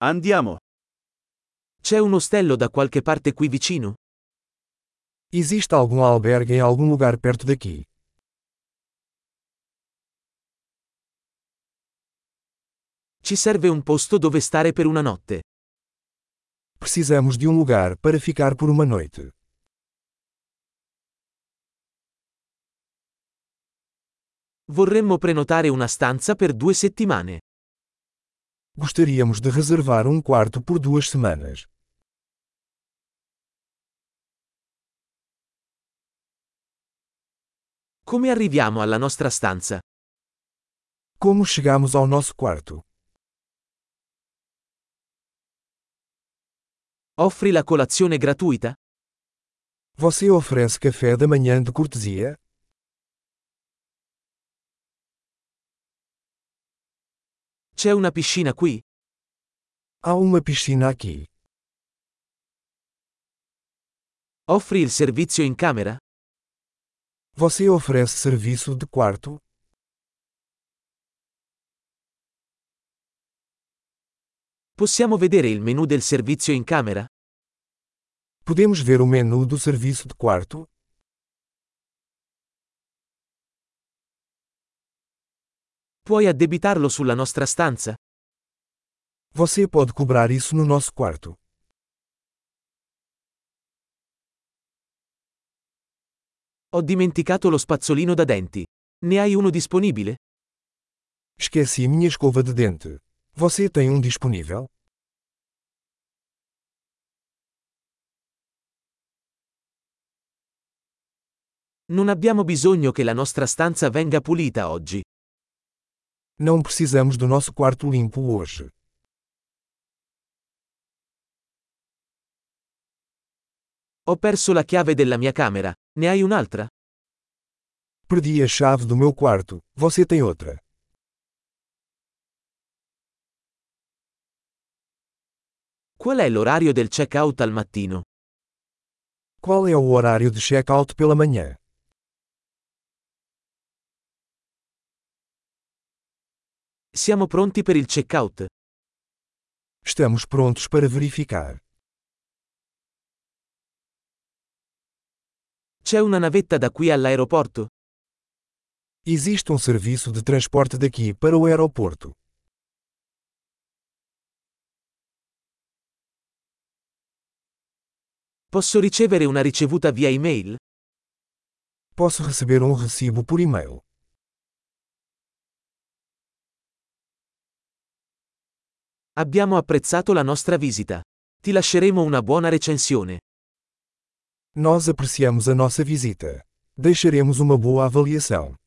Andiamo. C'è un ostello da qualche parte qui vicino? Existe algum albergue em algum lugar perto daqui? Ci serve un posto dove stare per una notte. Precisamos de um lugar para ficar por uma noite. Vorremmo prenotare una stanza per 2 settimane. Gostaríamos de reservar um quarto por 2 semanas. Come arriviamo alla nostra stanza? Como chegamos ao nosso quarto? Offri la colazione gratuita? Você oferece café da manhã de cortesia? C'è una piscina qui? Há uma piscina aqui. Offri il servizio in camera? Você oferece serviço de quarto? Possiamo vedere il menu del servizio in camera? Podemos ver o menu do serviço de quarto? Puoi addebitarlo sulla nostra stanza? Você pode cobrar isso no nosso quarto. Ho dimenticato lo spazzolino da denti. Ne hai uno disponibile? Esqueci minha escova de dente. Você tem um disponível? Non abbiamo bisogno che la nostra stanza venga pulita oggi. Não precisamos do nosso quarto limpo hoje. Ho perso la chiave della mia camera. Ne hai un'altra? Perdi a chave do meu quarto. Você tem outra? Qual è l'orario del check-out al mattino? Qual é o horário de check-out pela manhã? Siamo pronti per il check-out. Estamos prontos para verificar. C'è una navetta da qui all'aeroporto? Existe um serviço de transporte daqui para o aeroporto. Posso ricevere una ricevuta via email? Posso receber um recibo por e-mail. Abbiamo apprezzato la nostra visita. Ti lasceremo una buona recensione. Nós apreciamos a nossa visita. Deixaremos uma boa avaliação.